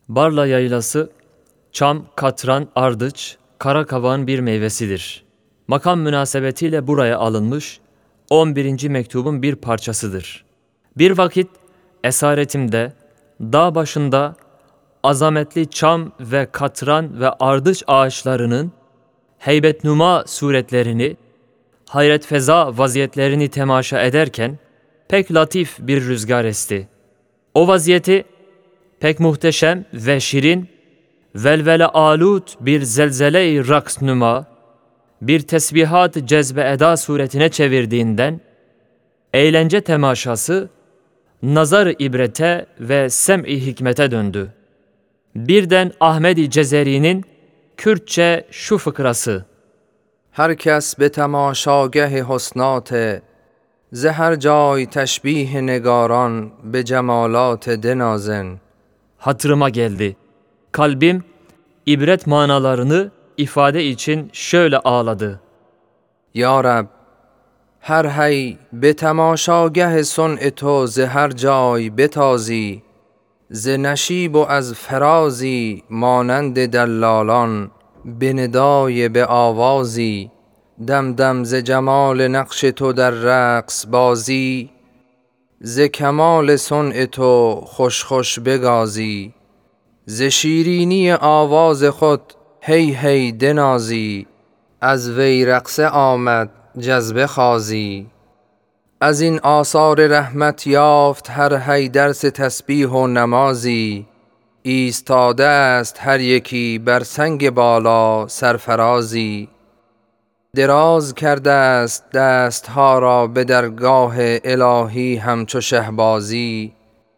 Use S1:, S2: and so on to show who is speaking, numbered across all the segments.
S1: Barla yaylası, çam, katran, ardıç, kara kavağın bir meyvesidir. Makam münasebetiyle buraya alınmış 11. mektubun bir parçasıdır. Bir vakit esaretimde, dağ başında azametli çam ve katran ve ardıç ağaçlarının heybetnuma suretlerini, hayret feza vaziyetlerini temaşa ederken pek latif bir rüzgar esti. O vaziyeti pek muhteşem ve şirin, velvele alut bir zelzele-i raks nüma, bir tesbihat cezbe eda suretine çevirdiğinden, eğlence temaşası, nazar-ı ibrete ve sem-i hikmete döndü. Birden Ahmed-i Cezeri'nin Kürtçe şu fıkrası:
S2: Herkes be temaşageh husnat, ز هر جای تشبیه نگاران به جمالات دنازن.
S1: hatırıma geldi. Kalbim ibret manalarını ifade için şöyle ağladı.
S2: یا رب هر هی به تماشاگه صنع تو ز هر جای بتازی، ز نشیب و از فرازی مانند دلالان به ندای به آوازی، دم دم ز جمال نقش تو در رقص بازی، ز کمال صنع تو خوش خوش بگازی، ز شیرینی آواز خود هی هی دنازی، از وی رقصه آمد جذبه خازی. از این آثار رحمت یافت هر هی درس تسبیح و نمازی، ایستاده است هر یکی بر سنگ بالا سرفرازی، دراز کرده است دستها را به درگاه الهی همچو شهبازی،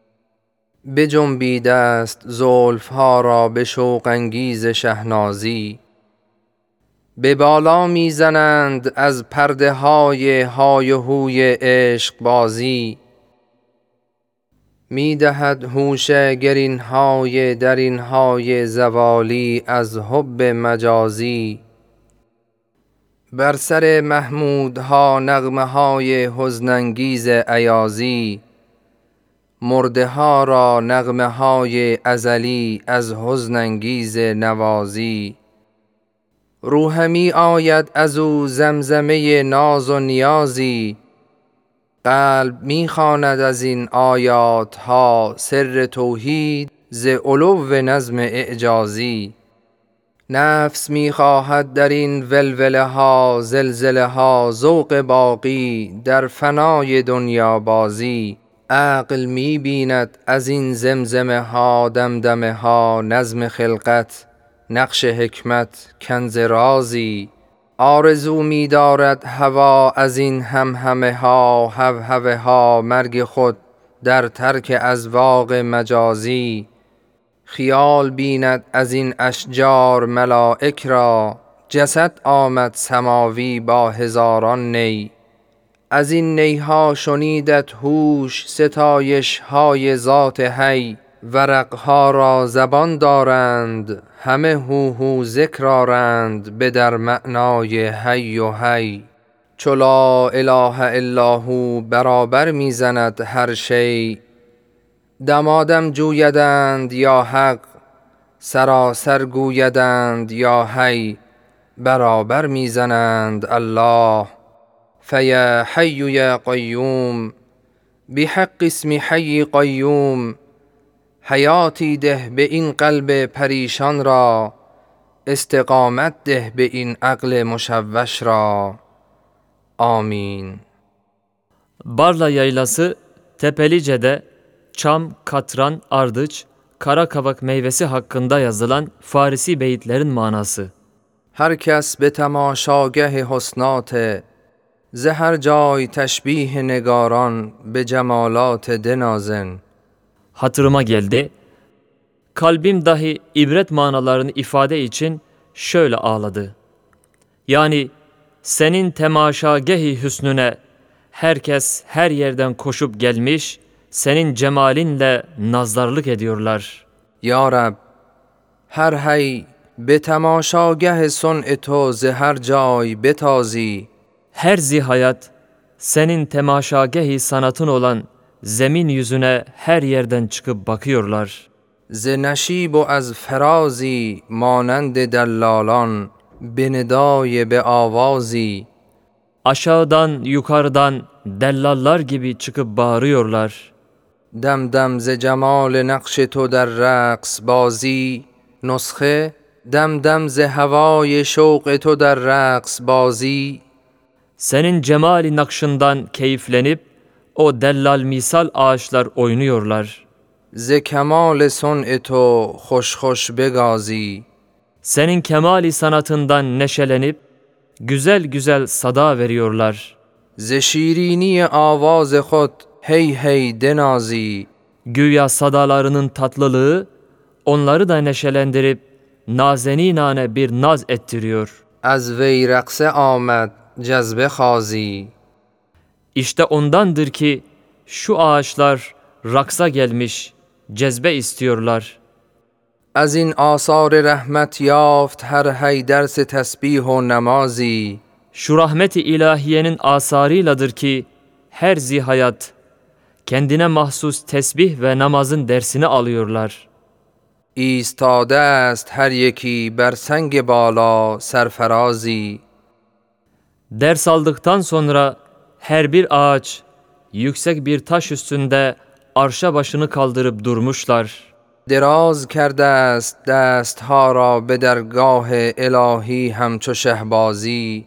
S2: بجنبیده است زلفها را به شوق انگیز شهنازی، به بالا میزنند از پرده های های و هوی عشق بازی، میدهد هوش گرین های درین های زوالی از حب مجازی، بر سر محمودها نغمه های حزن انگیز ایازی، مرده ها را نغمه های ازلی از حزن انگیز نوازی، روحمی آید از او زمزمه ناز و نیازی، قلب میخواند از این آیات ها سر توحید ز علو نظم اعجازی، نفس میخواهد در این ولوله ها زلزله ها ذوق باقی در فنای دنیا بازی، عقل میبیند از این زمزمه ها دمدمه ها نظم خلقت نقش حکمت کنز رازی، آرزو می‌دارد هوا از این همهمه ها هوهوه ها مرگ خود در ترک اذواق مجازی، خیال بیند از این اشجار ملائک را جسد آمد سماوی با هزاران نی، از این نیها شنیدت هوش ستایش های ذات حی، ورقها را زبان دارند همه هوهو ذکر آرند به در معنای حی و حی، چو لا اله الا هو برابر میزند هر شی، دمادم جویدند یا حق سراسر گویدند یا حی، برابر میزنند الله. فیا حی یا قیوم بحق اسم حی قیوم، حیاتی ده به این قلب پریشان را، استقامت ده به این عقل مشوش را. آمین.
S1: Barla yaylası, Tepelice'de çam, katran, ardıç, kara kavak meyvesi hakkında yazılan Farisi beyitlerin manası.
S2: هر کس به تماشاگه حسنات، ز هر جای تشبیه نگاران به جمالات دنازن.
S1: Hatırıma geldi. Kalbim dahi ibret manalarını ifade için şöyle ağladı. Yani senin temaşagehi hüsnüne herkes her yerden koşup gelmiş, senin cemalinle nazarlık ediyorlar.
S2: یا رب هر هی به تماشاگه صنع تو ز هر جای بتازی،
S1: Her zihayat senin temaşagehi sanatın olan zemin yüzüne her yerden çıkıp bakıyorlar.
S2: ز نشیب و از فرازی مانند دلالان به ندای به آوازی.
S1: Aşağıdan yukarıdan dellallar gibi çıkıp bağırıyorlar.
S2: دم دم ز جمال نقش تو در رقص بازی. نسخه دم دم ز هوای شوق تو در رقص بازی.
S1: Senin cemali nakşından keyiflenip o dellal misal ağaçlar oynuyorlar.
S2: ز کمال صنع تو خوش خوش بگازی.
S1: Senin kemali sanatından neşelenip güzel güzel sada veriyorlar.
S2: ز شیرینی آواز خود هی هی دنازی.
S1: Güya sadalarının tatlılığı onları da neşelendirip nazeninane bir naz ettiriyor.
S2: از وی رقصه آمد جذبه خازی.
S1: İşte ondandır ki şu ağaçlar raksa gelmiş, cezbe istiyorlar.
S2: از این آثار رحمت یافت هر هی درس تسبیح و نمازی.
S1: Şu rahmet-i ilahiyenin asarıyladır ki her zihayat kendine mahsus tesbih ve namazın dersini alıyorlar.
S2: ایستاده است هر یکی بر سنگ بالا سرفرازی.
S1: Ders aldıktan sonra her bir ağaç yüksek bir taş üstünde arşa başını kaldırıp durmuşlar.
S2: دراز کرده است دستها را به درگاه الهی همچو شهبازی.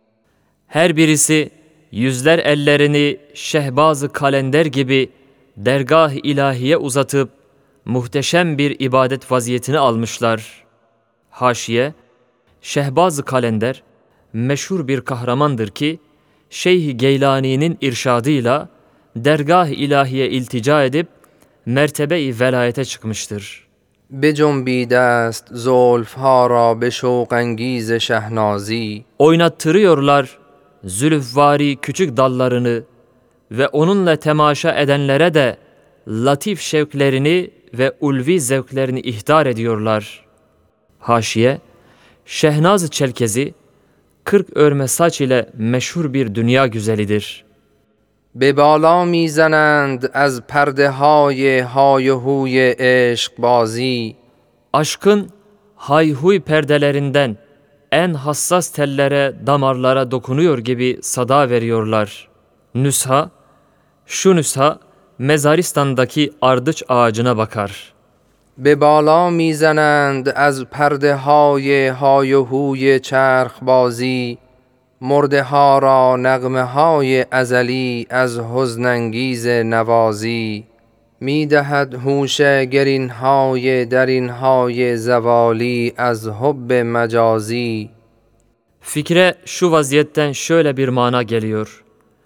S1: Her birisi yüzler ellerini şehbaz-ı kalender gibi dergah-ı ilahiye uzatıp muhteşem bir ibadet vaziyetini almışlar. Haşiye, şehbaz-ı kalender meşhur bir kahramandır ki Şeyh Geylani'nin irşadıyla dergah-ı ilahiye iltica edip mertebe-i velayete çıkmıştır.
S2: بجنبیده است زلفها را به شوق انگیز شهنازی.
S1: Oynattırıyorlar zülüfvari küçük dallarını ve onunla temaşa edenlere de latif şevklerini ve ulvi zevklerini ihtar ediyorlar. Haşiye, Şehnaz-ı Çelkezi, 40 örme saç ile meşhur bir dünya güzelidir.
S2: به بالا میزنند از پرده های های و هوی عشق بازی.
S1: Aşkın hayhuy perdelerinden en hassas tellere, damarlara dokunuyor gibi sada veriyorlar. Nüsha, şu nüsha Mezaristan'daki ardıç ağacına bakar.
S2: به بالا میزنند از پرده های های و هوی چرخ بازی. مرده ها را نغمه های ازلی از حزن انگیز نوازی. می دهد هوش گرین های درین های زوالی از حب مجازی.
S1: Fikre şu vaziyetten şöyle bir mana geliyor.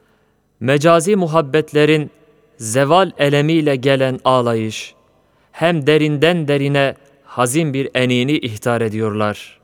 S1: Mecazi muhabbetlerin zeval elemiyle gelen ağlayış, hem derinden derine hazin bir enini ihtar ediyorlar.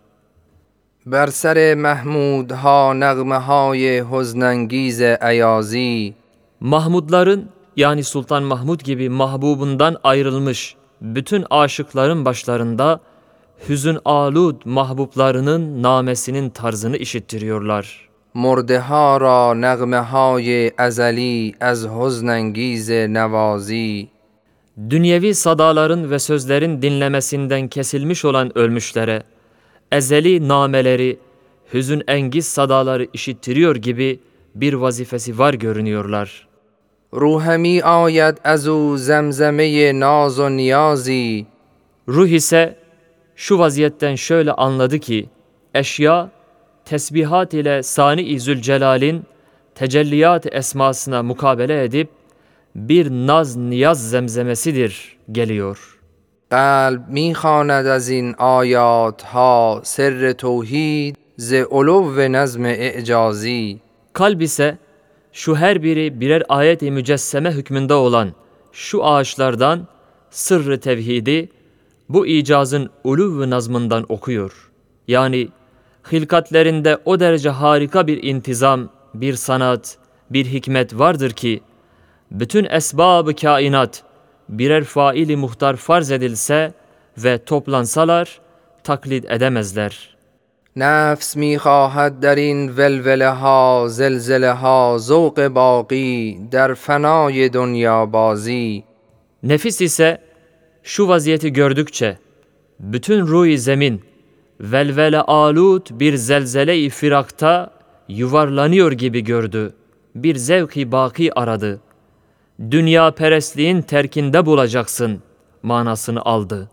S2: بر سر محمودها نغمه های حزن انگیز ایازی.
S1: Mahmudların yani Sultan Mahmud gibi mahbubundan ayrılmış bütün aşıkların başlarında hüzün alud mahbublarının namesinin tarzını işittiriyorlar.
S2: مرده ها را نغمه های ازلی از حزن انگیز نوازی.
S1: Dünyevi sadaların ve sözlerin dinlemesinden kesilmiş olan ölmüşlere ezeli nameleri, hüzün engiz sadaları işittiriyor gibi bir vazifesi var görünüyorlar.
S2: روحمی آید از او زمزمه ناز و نیازی.
S1: Ruh ise şu vaziyetten şöyle anladı ki, eşya, tesbihat ile Sani-i Zülcelal'in tecelliyat esmasına mukabele edip, bir naz niyaz zemzemesidir geliyor.
S2: قلب میخواند از این آیات ها سر توحید ز علو نظم اعجازی.
S1: Kalp ise şu her biri birer ayet-i mücesseme hükmünde olan şu ağaçlardan sırrı tevhidi bu icazın uluv nazmından okuyor. Yani hilkatlerinde o derece harika bir intizam, bir sanat, bir hikmet vardır ki bütün esbab-ı kainat birer faili muhtar farz edilse ve toplansalar taklit edemezler.
S2: نفس میخواهد در این ولوله ها زلزله ها ذوق باقی در فنای دنیا بازی.
S1: Nefis ise şu vaziyeti gördükçe bütün ruh-i zemin velvele alut bir zelzele-i firakta yuvarlanıyor gibi gördü. Bir zevk-i baki aradı. Dünya perestliğin terkinde bulacaksın manasını aldı.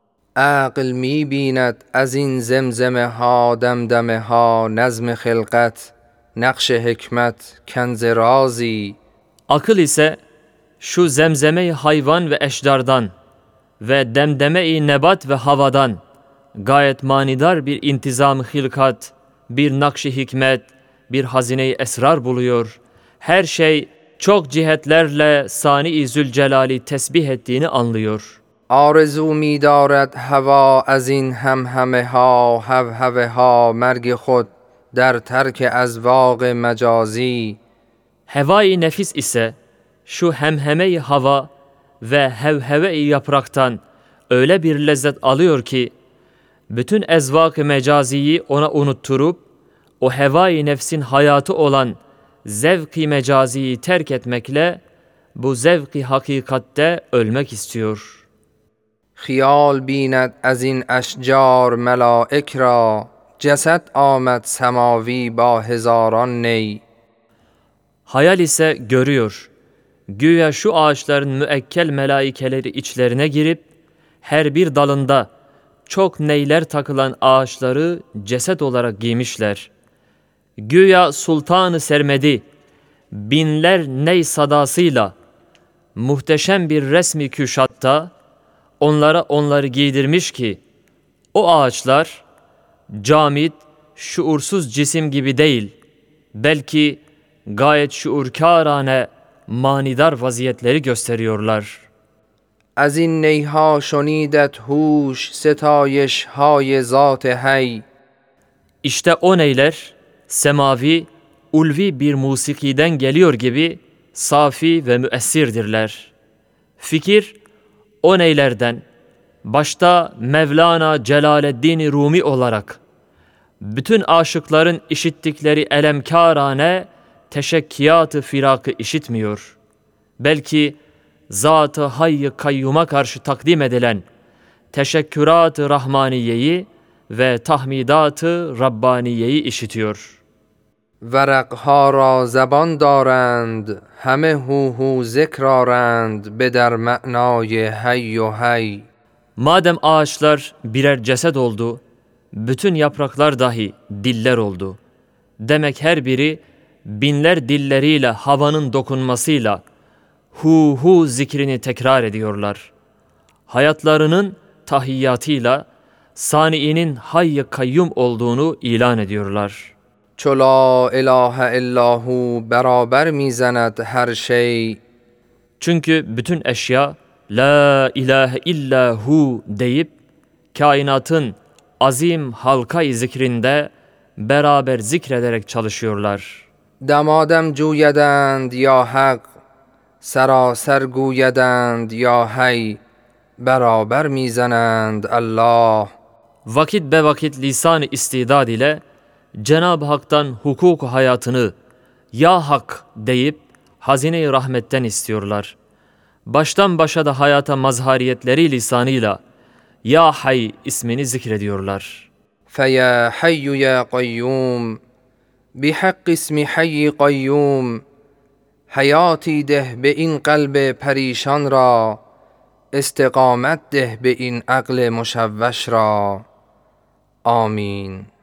S2: عقل می بیند از این زمزمه ها دمدمه ها نظم خلقت نقش حکمت کنز رازی.
S1: Akıl ise şu zemzeme-i hayvan ve eşdardan ve demdeme-i nebat ve havadan gayet manidar bir intizam-ı hilkat, bir nakş-ı hikmet, bir hazine-i esrar buluyor. Her şey çok cihetlerle Sani-i Zülcelal'i tesbih ettiğini anlıyor.
S2: آرزو می دارد هوا از این همهمه ها هوهوه ها مرگ خود در ترک ازواق مجازی.
S1: Heva-i nefis ise şu hemheme-i hava ve hevheve-i yapraktan öyle bir lezzet alıyor ki bütün ezvak-ı mecaziyi ona unutturup o heva-i nefsin hayatı olan zevk-i mecaziyi terk etmekle bu zevk-i hakikatte ölmek istiyor.
S2: خیال بیند از این اشجار ملائک را جسد آمد سماوی با هزاران نی.
S1: Hayal ise görüyor. Güya şu ağaçların müekkel melaikeleri içlerine girip her bir dalında çok neyler takılan ağaçları ceset olarak giymişler. Güya Sultan-ı Sermedi binler ney sadasıyla muhteşem bir resmi küşatta onları giydirmiş ki o ağaçlar camit, şuursuz cisim gibi değil, belki gayet şuurkârane manidar vaziyetleri gösteriyorlar.
S2: از این نیها شنیدت هوش ستایش های ذات حی.
S1: İşte o neyler semavi, ulvi bir musikiden geliyor gibi safi ve müessirdirler. Fikir o neylerden başta Mevlana Celaleddin Rumi olarak bütün aşıkların işittikleri elemkârane teşekkiyat-ı firakı işitmiyor. Belki Zat-ı Hayy-i Kayyum'a karşı takdim edilen teşekkürat-ı Rahmaniye'yi ve tahmidat-ı Rabbaniye'yi işitiyor.
S2: ورقها را زبان دارند همه هو هو ذکر آرند به در معنای حی و حی.
S1: Madem ağaçlar birer ceset oldu, bütün yapraklar dahi diller oldu. Demek her biri binler dilleriyle havanın dokunmasıyla hu hu zikrini tekrar ediyorlar. Hayatlarının tahiyyatıyla Sani'nin hayy kayyum olduğunu ilan ediyorlar.
S2: چو لا اله الا هو برابر میزند هر şey.
S1: Çünkü bütün eşya La ilahe illa hu deyip kainatın azim halka-i zikrinde beraber zikrederek çalışıyorlar.
S2: دمادم جویدند یا حق سراسر گویدند یا حی برابر میزنند الله.
S1: Vakit be vakit lisan-ı istidad ile Cenab-ı Hak'tan hukuk hayatını ya hak deyip hazine-i rahmetten istiyorlar. Baştan başa da hayata mazhariyetleri lisanıyla Ya Hay ismini zikrediyorlar.
S2: فَيَا حَيُّ يَا قَيُّومُ بِحَقِّ اسم حَيِّ قَيُّومُ حیاتی ده به این قلب پریشان را استقامت ده به این عقل مشوش را. آمین.